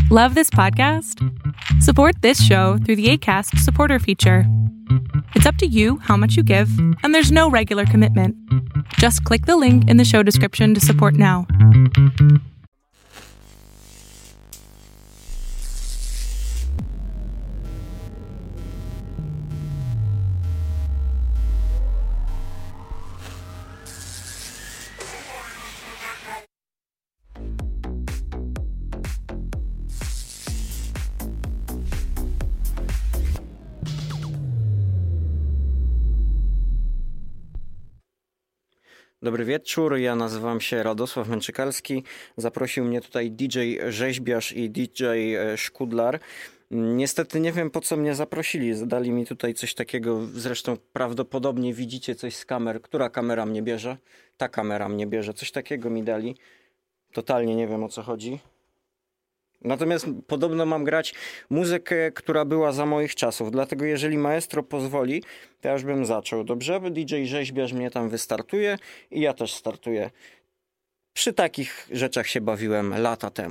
Love this podcast? Support this show through the Acast supporter feature. It's up to you how much you give, and there's no regular commitment. Just click the link in the show description to support now. Dobry wieczór, ja nazywam się Radosław Męczykalski. Zaprosił mnie tutaj DJ Rzeźbiarz i DJ Szkudlar. Niestety nie wiem, po co mnie zaprosili. Dali mi tutaj coś takiego, zresztą prawdopodobnie widzicie coś z kamer. Która kamera mnie bierze? Ta kamera mnie bierze. Coś takiego mi dali. Totalnie nie wiem, o co chodzi. Natomiast podobno mam grać muzykę, która była za moich czasów. Dlatego jeżeli maestro pozwoli, to ja już bym zaczął. Dobrze? Bo DJ Rzeźbiarz mnie tam wystartuje i ja też startuję. Przy takich rzeczach się bawiłem lata temu.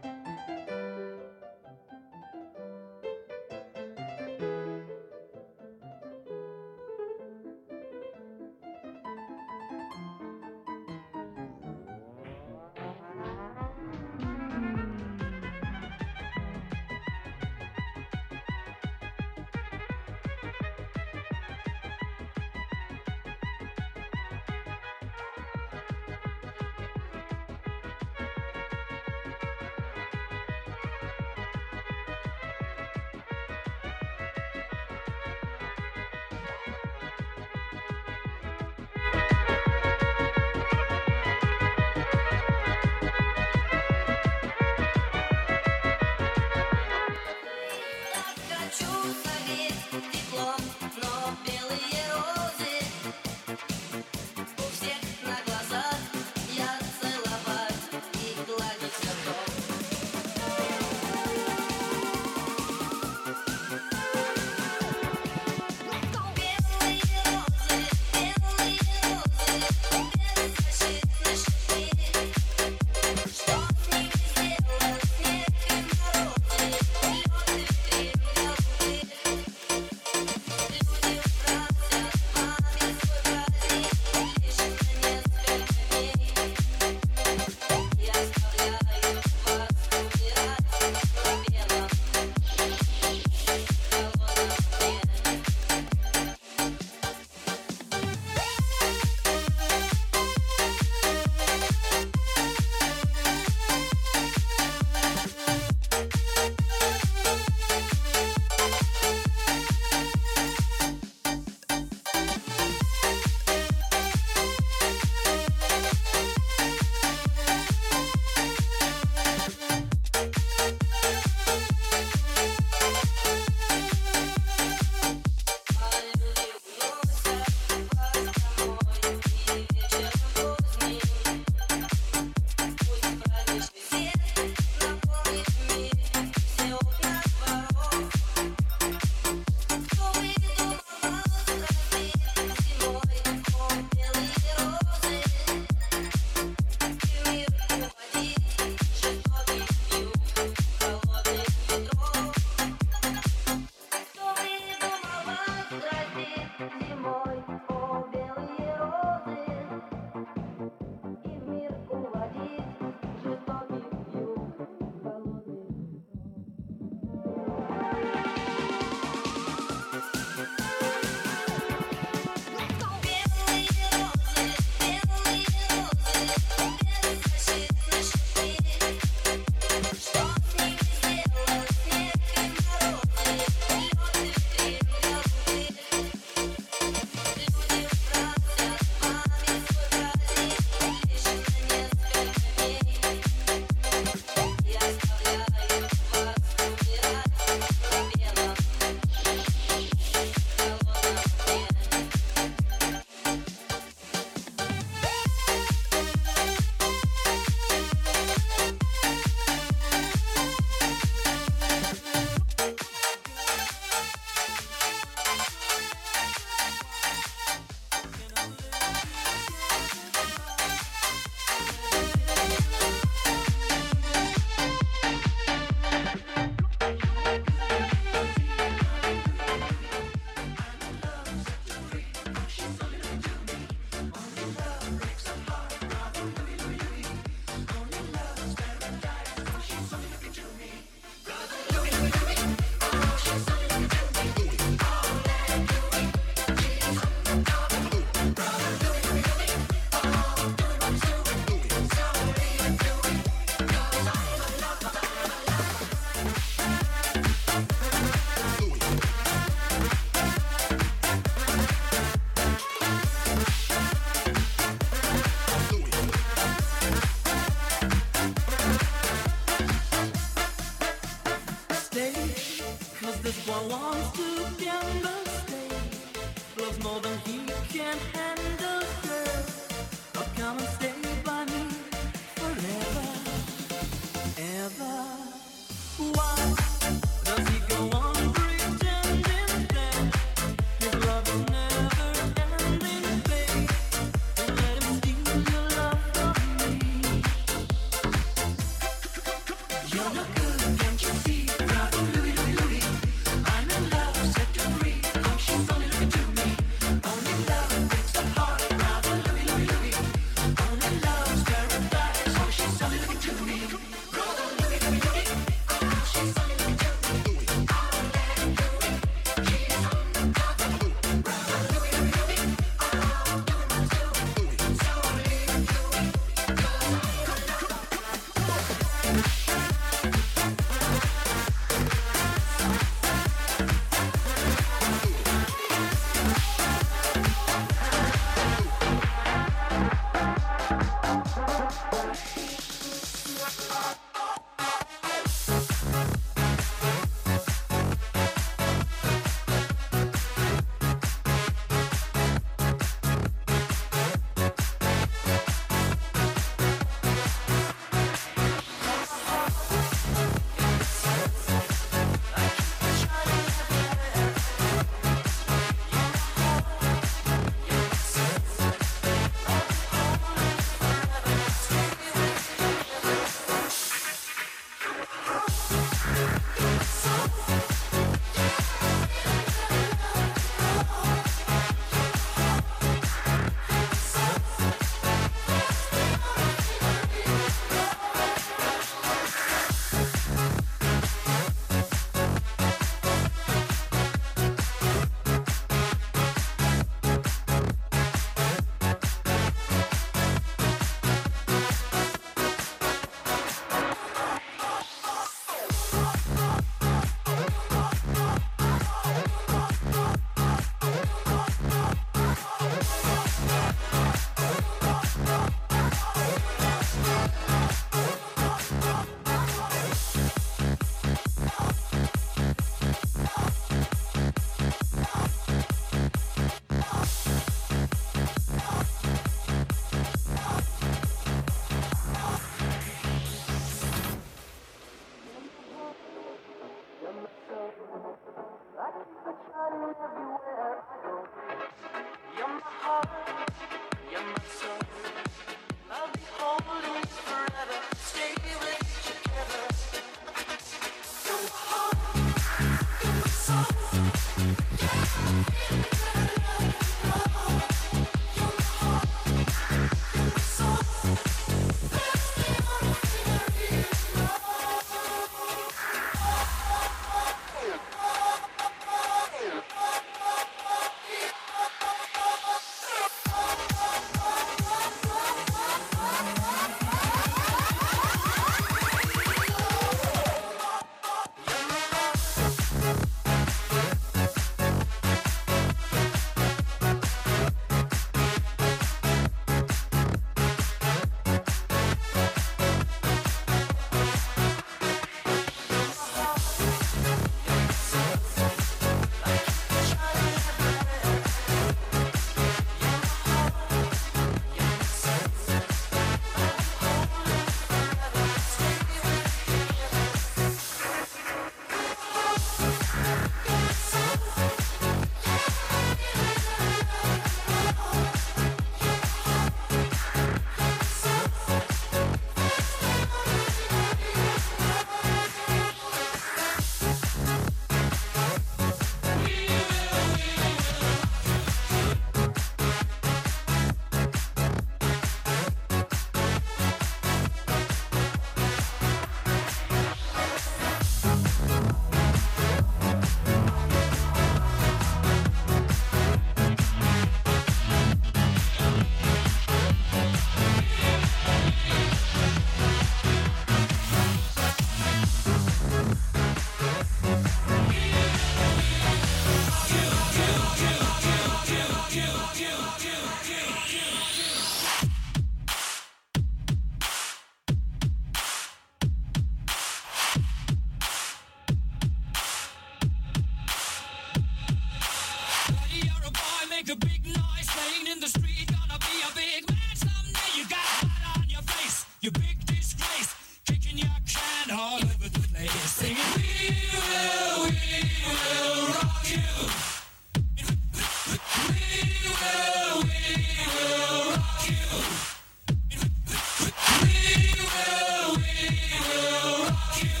rock you.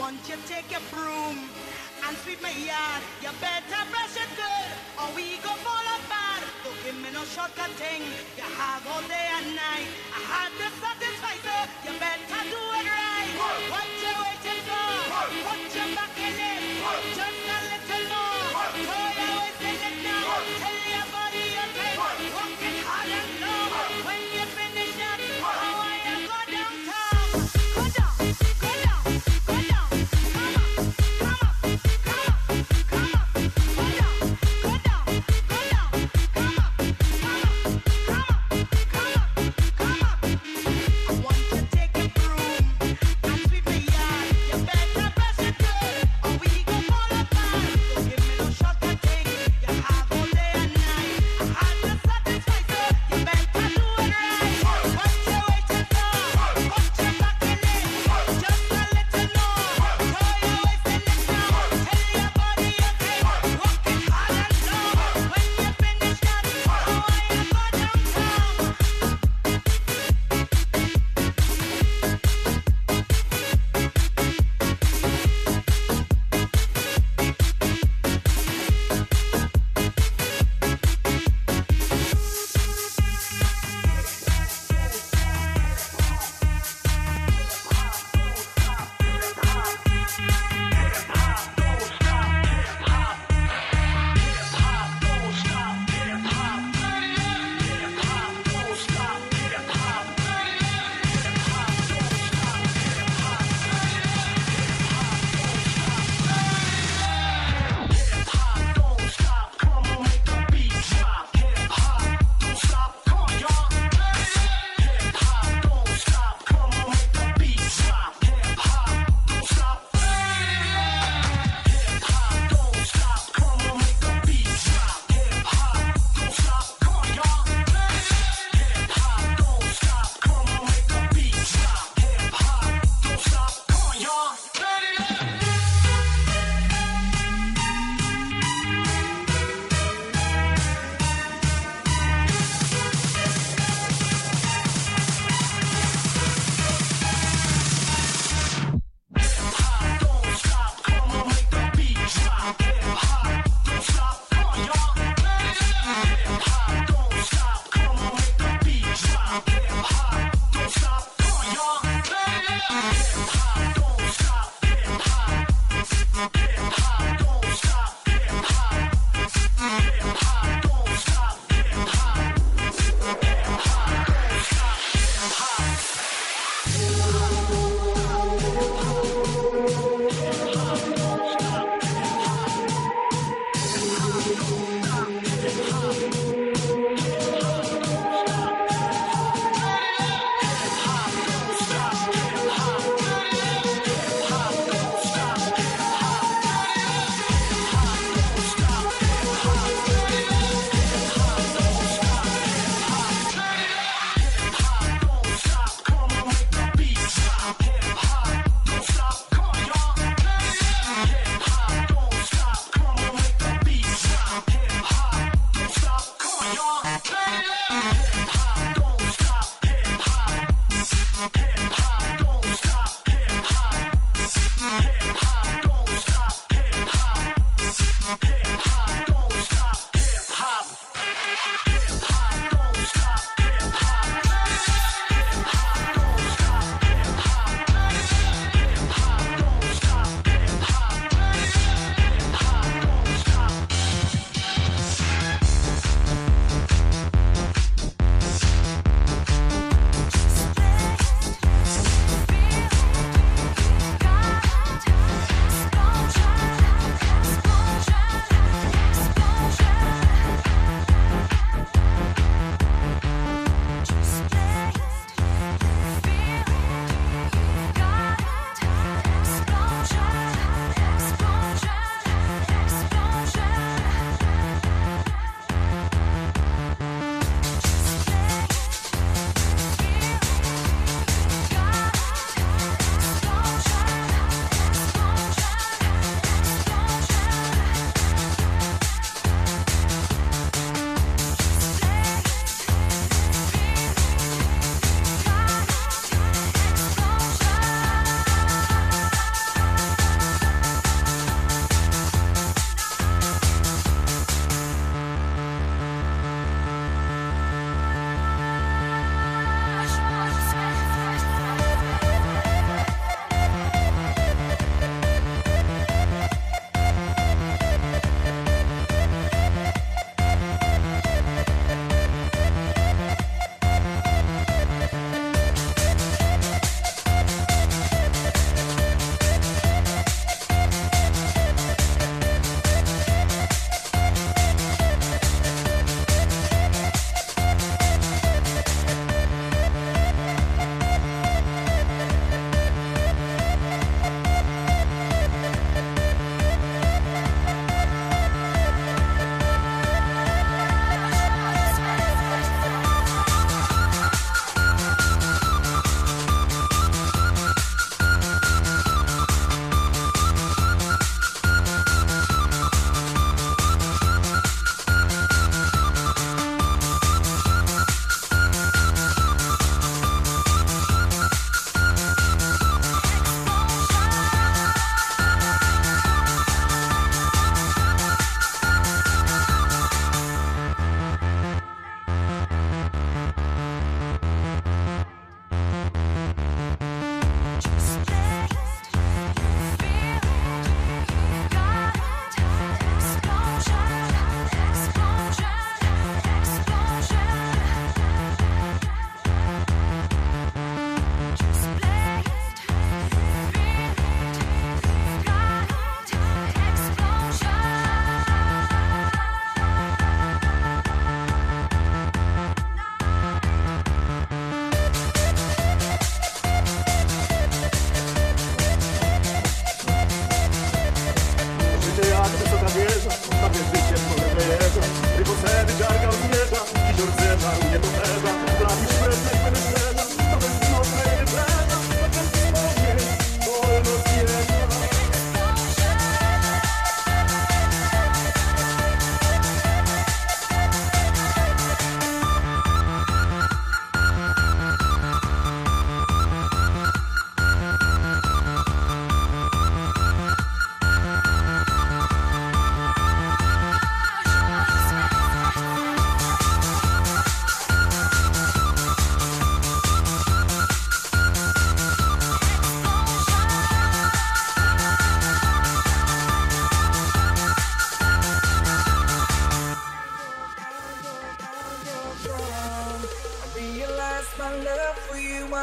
want you take your broom and sweep my yard. You better brush it good, or we go fall apart. Don't give me no shortcut thing. You have all day and night. I had to satisfy, so you better do it right. What you waiting for? Put your back in it. Just a little more. Throw your waist in it now. Tell your body you're tight. Work it hard and long. When you finish that, I want you go downtown. Go down, go down, go down. Come up, come up, come up, come up. Go down, go down, go down. Come up, come up, come up, come up, come up. I want you to take a broom and sweep the yard. You better brush it good, or we go fall apart. Don't give me no shortcut thing. You have all day and night. I had to satisfy, so you better do it right. What you waiting for? Put your back in it. Just a little more. Throw your waist in it now. Tell your body you're tight. Work it hard and long. When you finish that, I want you to go downtown.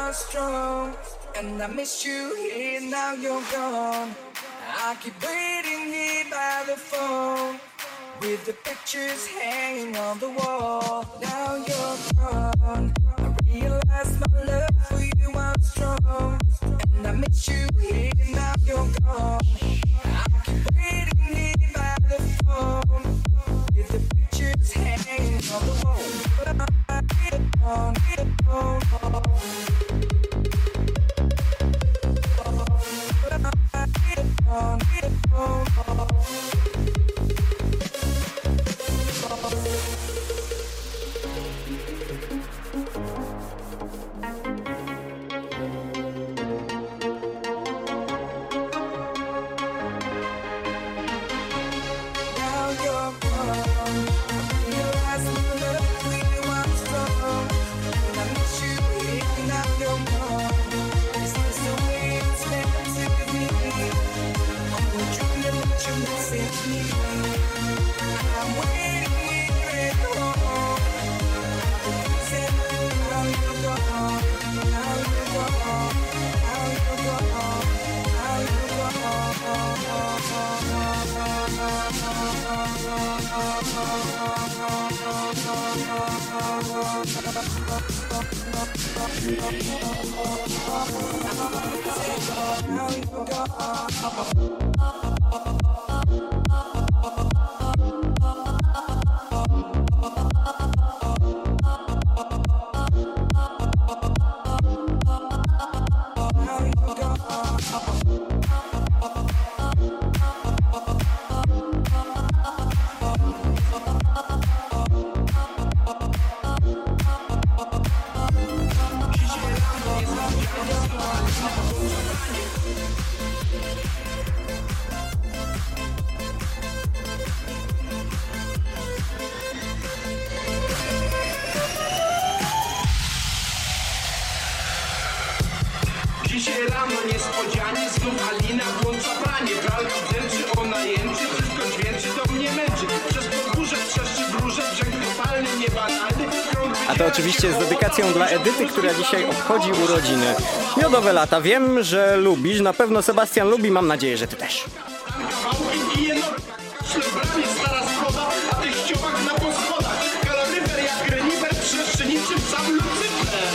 are strong, and I miss you here, now you're gone. I keep waiting here by the phone, with the pictures hanging on the wall. Now you're gone, I realize my love for you was strong, and I miss you here, now you're gone. I keep waiting here by the phone, with the pictures hanging on the wall. Dzisiaj rano niespodzianie znów Alina włącza pranie. Pralka dręczy, ona jęczy, wszystko dźwięczy, to mnie męczy. Przez podwórze trzeszczy wróże, brzeg kopalny, niebanalny. A to oczywiście z dedykacją dla Edyty, która dzisiaj obchodzi urodziny. Miodowe lata, wiem, że lubisz, na pewno Sebastian lubi, mam nadzieję, że ty też. Stara schoda, a tych ściołach na poschodach. Kaloryfer jak renifer, trzeszczy niczym sam Lucyfer.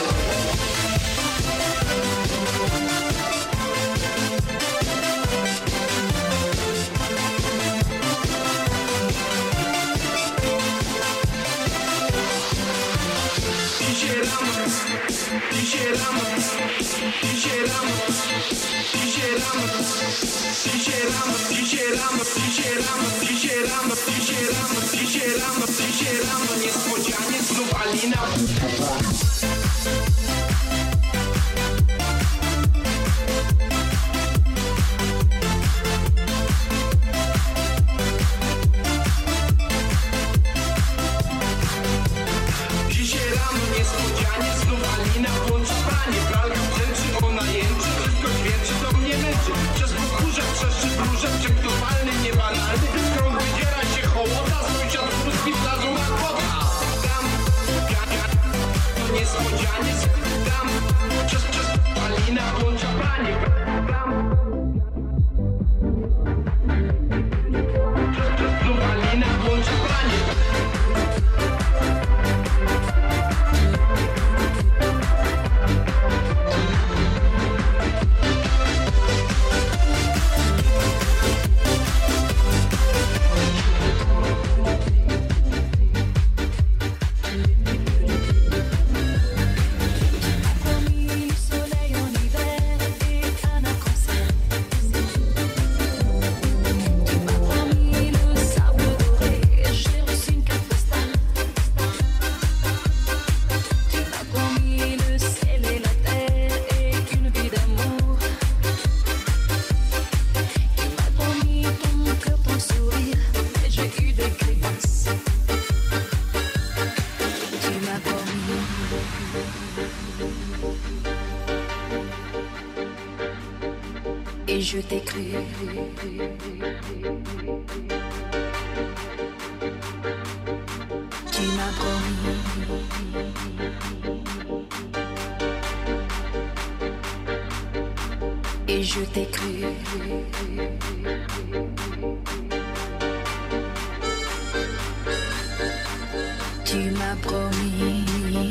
Dzisiaj rano niespodzianie znów Alina. Dzisiaj rano niespodzianie znów Alina włącza pranie. Pralka brzęczy, ona jęczy, wszystko dźwięczy, to mnie męczy. Przez podwórze trzeszczy wróże, brzeg kopalny, niebanalny. Krąg wydziera się hołota, sąsiad pustki wlazł na kota. Tam, to niespodzianie tam, przez Alina włącza pranie. Tam, znów Alina włącza pranie. Et je t'ai cru. Tu m'as promis et je t'ai cru. Tu m'as promis.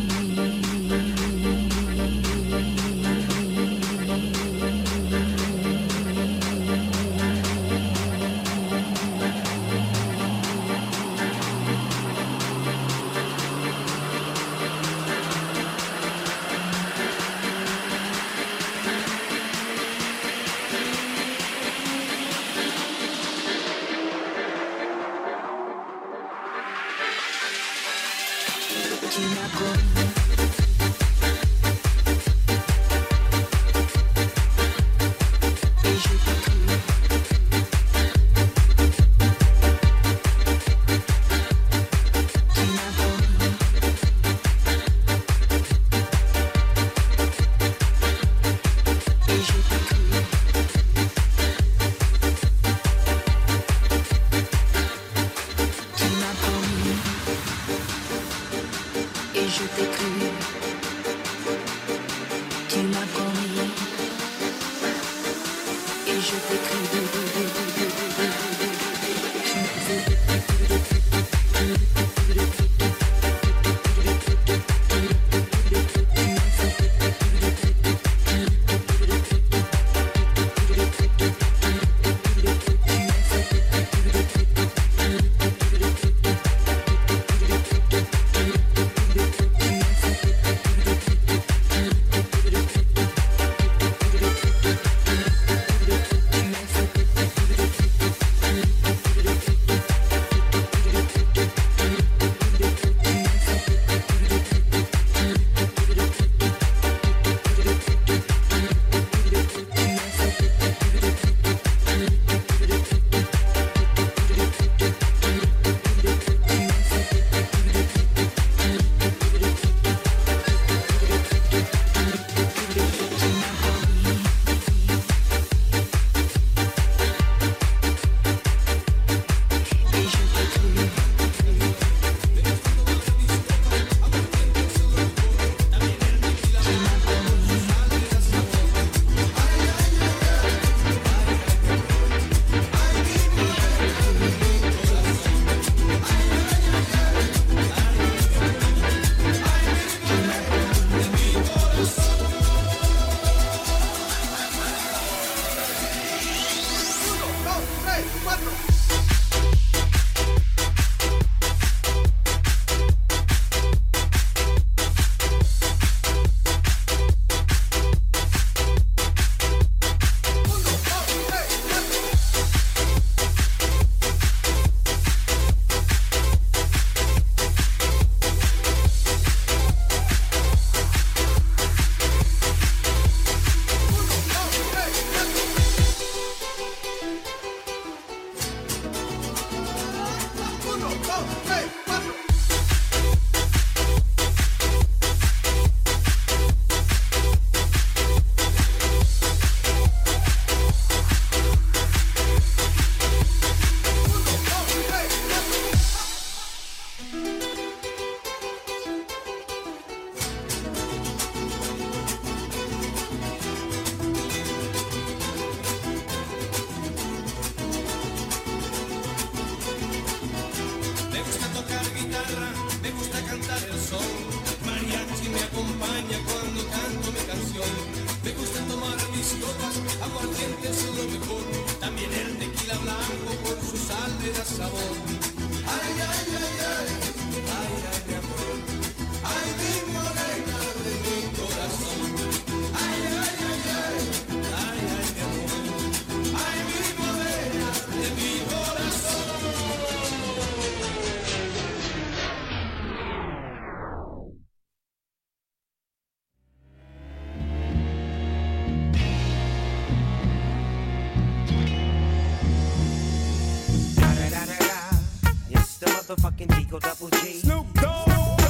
Motherfucking Digo Double G. Snoop Dogg.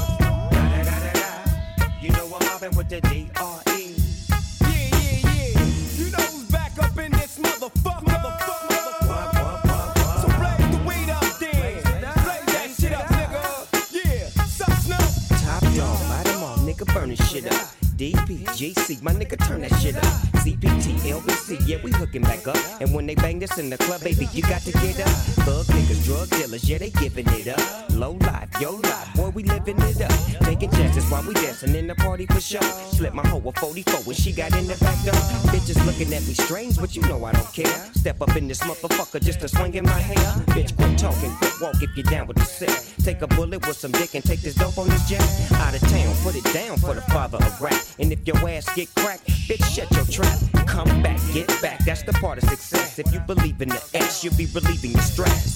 You know I'm mobbing with the D.R.E. Yeah. You know who's back up in this motherfucker. So blaze the weed up then. Blaze that shit up, nigga. Yeah. Sup, Snoop? Top dog, light 'em all, nigga, burn this shit up. DPGC MC, my nigga, turn that shit up. CPT, LBC, yeah, we hooking back up. And when they bang this in the club, baby, you got to get up. Thug niggas, drug dealers, yeah, they giving it up. Low life, yo life, boy, we living it up. Taking chances while we dancing in the party for sure. Slip my hoe a 44 when she got in the back door. Bitches looking at me strange, but you know I don't care. Step up in this motherfucker just to swing in my hair. Bitch, quit talking, quit walk if you're down with the set. Take a bullet with some dick and take this dope on this jet. Out of town, put it down for the father of rap. And if your ass get cracked, bitch, shut your trap. Come back, get back, that's the part of success. If you believe in the X, you'll be relieving your stress.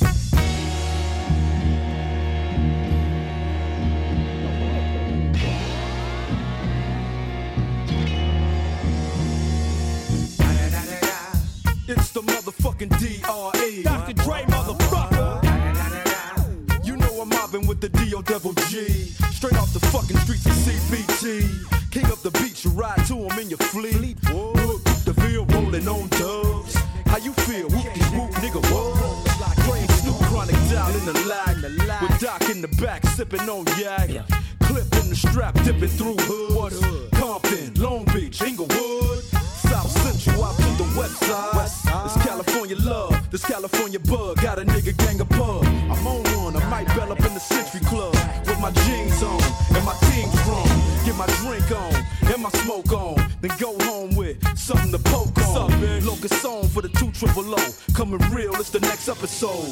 It's the motherfucking D.R.E. Dr. Dre, motherfucker. You know I'm mobbing with the D.O.G. Straight off the fucking streets of CBT. King up the beach, you ride to him in your fleet. Look, the field rolling on dubs. How you feel? Whoop-de-whoop, nigga, what? Dre and Snoop Chronic down in the lag. With Doc in the back, sipping on yak. Clip in the strap, dipping through hoods. Compton, Long Beach, Inglewood. South Central out to the west side. This California love, this California bug. Got a nigga gang of pub. I'm on one, I might bell up in the Century Club. With my jeans on, and my team strong. Get my drink on, and my smoke on. Then go home with something to poke on. Locust song for the 200. Coming real, it's the next episode.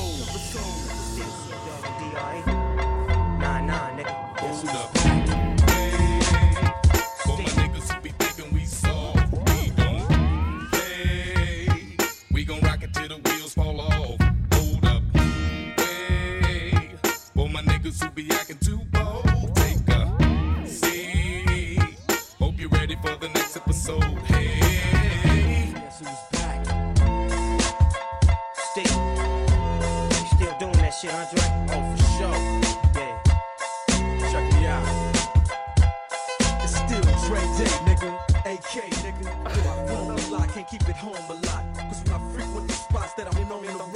Nah, nigga. Hold up. Hey, for my niggas who be thinking we soft, we gon' rock it till the wheels fall off. Hold up. Hey, for my niggas who be acting too bold, take a seat. Hope you're ready for the next episode. Hey, Guess who's back? Steve, you still doing that shit, Andre? Oh, for sure. Check me out. It's still Dre Day, nigga. AK, nigga. I roam a lot, can't keep it home a lot. Cause when I frequent the spots that I'm known in the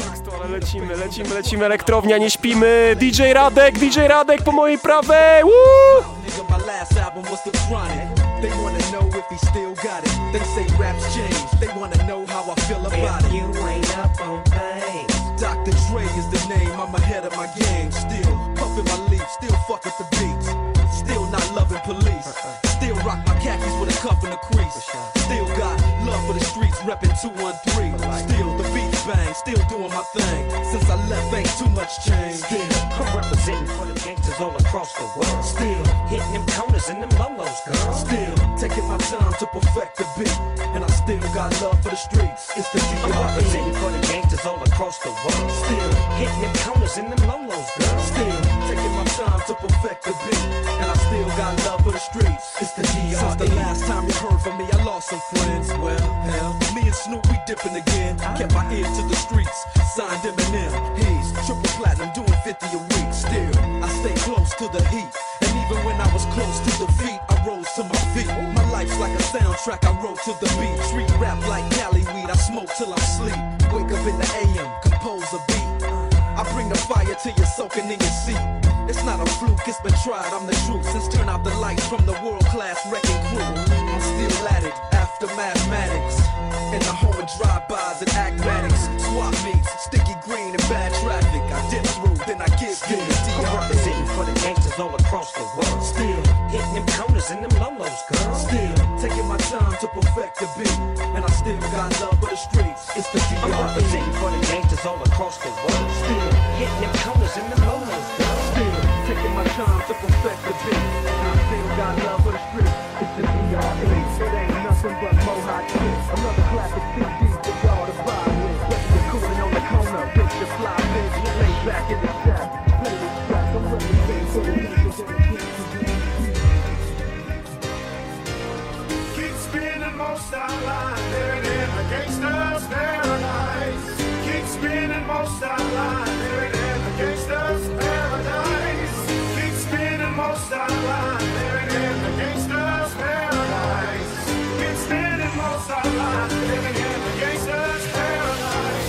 rock. Lecimy, elektrownia, nie śpimy. DJ Radek po mojej prawej. Woo! Nigga, my last album was The Chronic. They wanna know if he still got it. They say raps change. They wanna know how I feel about it. You ain't up on things. Dr. Dre is the name, I'm ahead of my game. Still puffin' my leaf, still fuck with the beats. Still not loving police. Still rock my khakis with a cuff and a crease. Still got love for the streets, reppin' 213. Still the beats bang, still doing my thing. Since I left, ain't too much change. Still, I'm representing for the gangsters all across the world. Still hitting them corners and them lolos, girl. Still taking my time to perfect the beat. And I still got love for the streets. It's the I'm D.R.E. representing for the gangsters all across the world. Still hitting them corners and them lolos, girl. Still taking my time to perfect the beat. And I still got love for the streets. It's the D.R.E. Since the last time you heard from me, I lost some friends. Well, hell, me and Snoop, we dipping again. Kept my ear to the streets. Signed Eminem. He's triple platinum, doing 50 a week. Still, I stay close to the heat. And even when I was close to defeat, I rose to my feet. My life's like a soundtrack, I wrote to the beat. Street rap like Cali weed, I smoke till I sleep. Wake up in the AM, compose a beat. I bring the fire till you're soaking in your seat. It's not a fluke, it's been tried, I'm the truth. Since turn out the lights from the world-class wrecking crew, I'm still at it, after mathematics. In the home of drive-bys and acmatics. Swap meets, sticky green and bad traffic. I dip through, then I give you the I'm D.R.E. representing for the gangsters all across the world. Still hitting them corners and them lolos, girl. Still taking my time to perfect the beat. And I still got love for the streets. It's the I'm D.R.E. representing for the gangsters all across the world. Still hitting them corners and them lolos, girl. Still taking my time to perfect the beat. And I still got love for the streets. It's the D.R.E. It ain't nothing but Mohawk kicks. Another classic CD for y'all to buy with. Whether you're cooling on the corner, bitch, you fly, bitch. Lay back in the shack. Play this track. I'm representing for the niggas in the keep spinning most our line, living in the gangster's paradise. Keep spinning most our line, living in the gangster's paradise. Keep spinning most our line, living in the gangster's paradise. Keep spinning most our line, living in the gangster's paradise.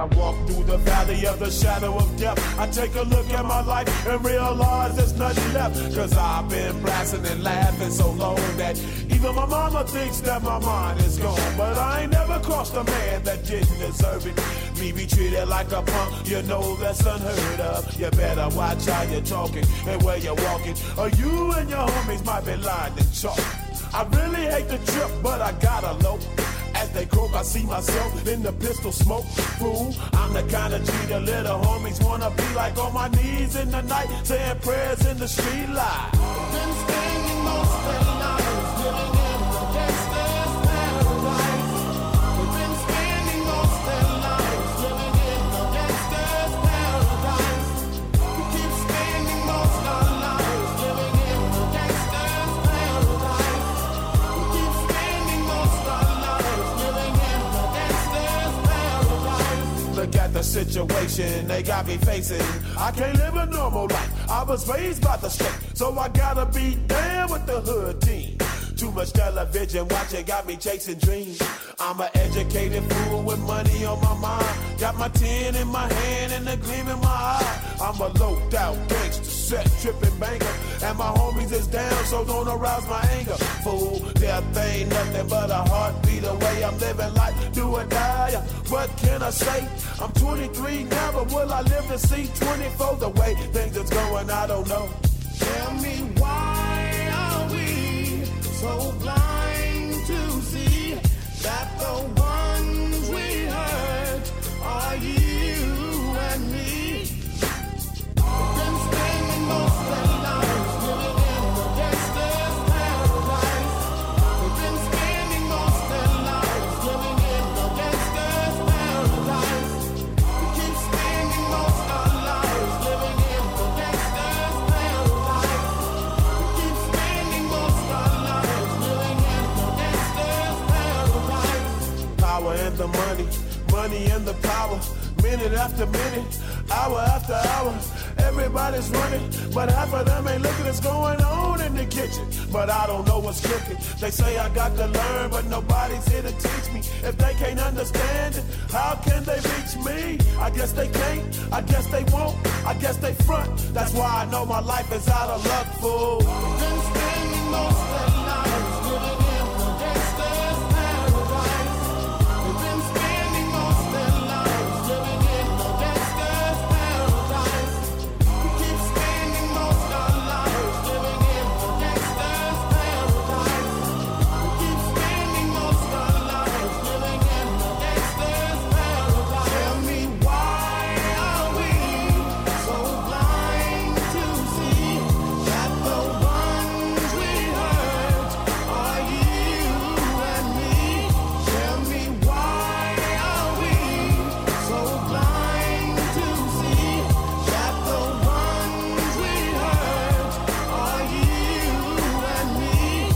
I walk through the valley of the shadow of death, I take a look at my life and realize there's nothing left. Cause I've been blasting and laughing so long that even my mama thinks that my mind is gone. But I ain't never crossed a man that didn't deserve it. Me be treated like a punk, you know that's unheard of. You better watch how you're talking and where you're walking, or you and your homies might be lying in chalk. I really hate the trip, but I gotta low. As they croak, I see myself in the pistol smoke. Fool, I'm the kind of G the little homies wanna be like, on my knees in the night, saying prayers in the street light. Been spending most of their lives living in the gangster's paradise. We've been spending most of their lives living in the gangster's paradise. We keep spending most of our lives living in the gangster's paradise. We keep spending most of our lives living in the gangster's paradise. Look at the situation they got me facing. I can't live a normal life. I was raised by the state, so I gotta be down with the hood team. Too much television watching got me chasing dreams. I'm an educated fool with money on my mind. Got my 10 in my hand and a gleam in my eye. I'm a loped out gangster, set tripping banker, and my homies is down, so don't arouse my anger. Fool, death ain't nothing but a heartbeat away. I'm living life, do or die. What can I say? I'm 23 now, but will I live to see 24? The way things is going, I don't know. Tell me, why are we so blind to see that the ones we hurt are you and me? We've been spending most of their lives living in the gangster's paradise. We've been spending most of their lives living in the gangster's paradise. We keep spending most of our lives living in the gangster's paradise. We keep spending most of our lives living in the gangster's paradise. Power and the money, money and the power. Minute after minute, hour after hour, everybody's running, but half of them ain't looking what's going on in the kitchen. But I don't know what's cooking. They say I got to learn, but nobody's here to teach me. If they can't understand it, how can they reach me? I guess they can't, I guess they won't, I guess they front. That's why I know my life is out of luck, fool. Been spending most of their lives living in the gangster's paradise. We've been spending most of their lives living in the gangster's paradise. We keep spending most of our lives living in the gangster's paradise. We keep spending most of our lives living in the gangster's paradise. Tell me, why are we so blind to see that the ones we hurt are you and me? Tell me, why are we so blind to see that the ones we hurt are you and me?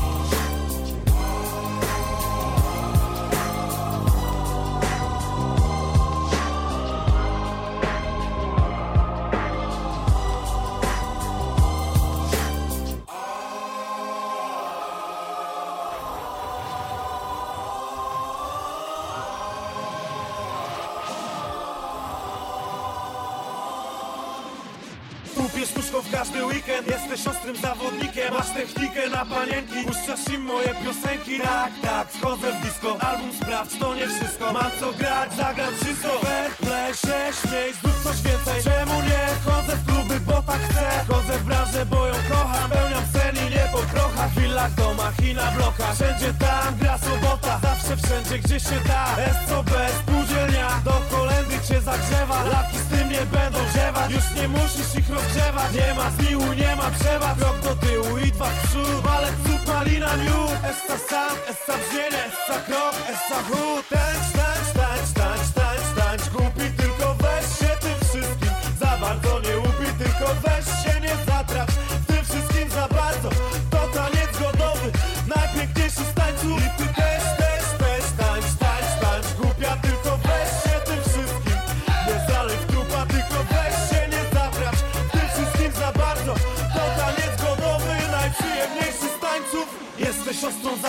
Kupię sztuczką w każdy weekend. Jesteś ostrym zawodnikiem, masz technikę na panienki. Puszczasz im moje piosenki. Tak, tak, wchodzę w disco. Album sprawdź, to nie wszystko. Mam co grać, zagram wszystko. Fair play, się śmiej, zrób coś więcej. Czemu nie? Chodzę w kluby, bo tak chcę. Chodzę w branżę, bo ją kocham. Pełniam sen i nie po krochach. Willa, domach i na blokach. Wszędzie tam gra sobota. Zawsze wszędzie, gdzie się da. SCB, spółdzielnia. Do kolendy cię zagrzewa. Laki z tym nie będą ziewać. Już nie musisz ich rozgrzewać. Nie ma zmiłu, nie ma przewag. Krok do tyłu i dwa w przód. Walec, cud, malina, miód. Essa sam, essa brzmienie. Essa krok, essa chód. Tańcz, tańcz, tańcz, tańcz, tańcz, tańcz. Głupi, tylko weź się tym wszystkim. Za bardzo nie łupi, tylko weź się nie zatracz. W tym wszystkim za bardzo. To taniec godowy. Najpiękniejszy z tańców. I ty też, też, też tańcz, tańcz, tańcz. Głupia, tylko weź się tym wszystkim. Nie zalej w trupa, tylko weź się nie zatracz. W tym wszystkim za bardzo. To taniec godowy. Najprzyjemniejszy z tańców. Jesteś ostrą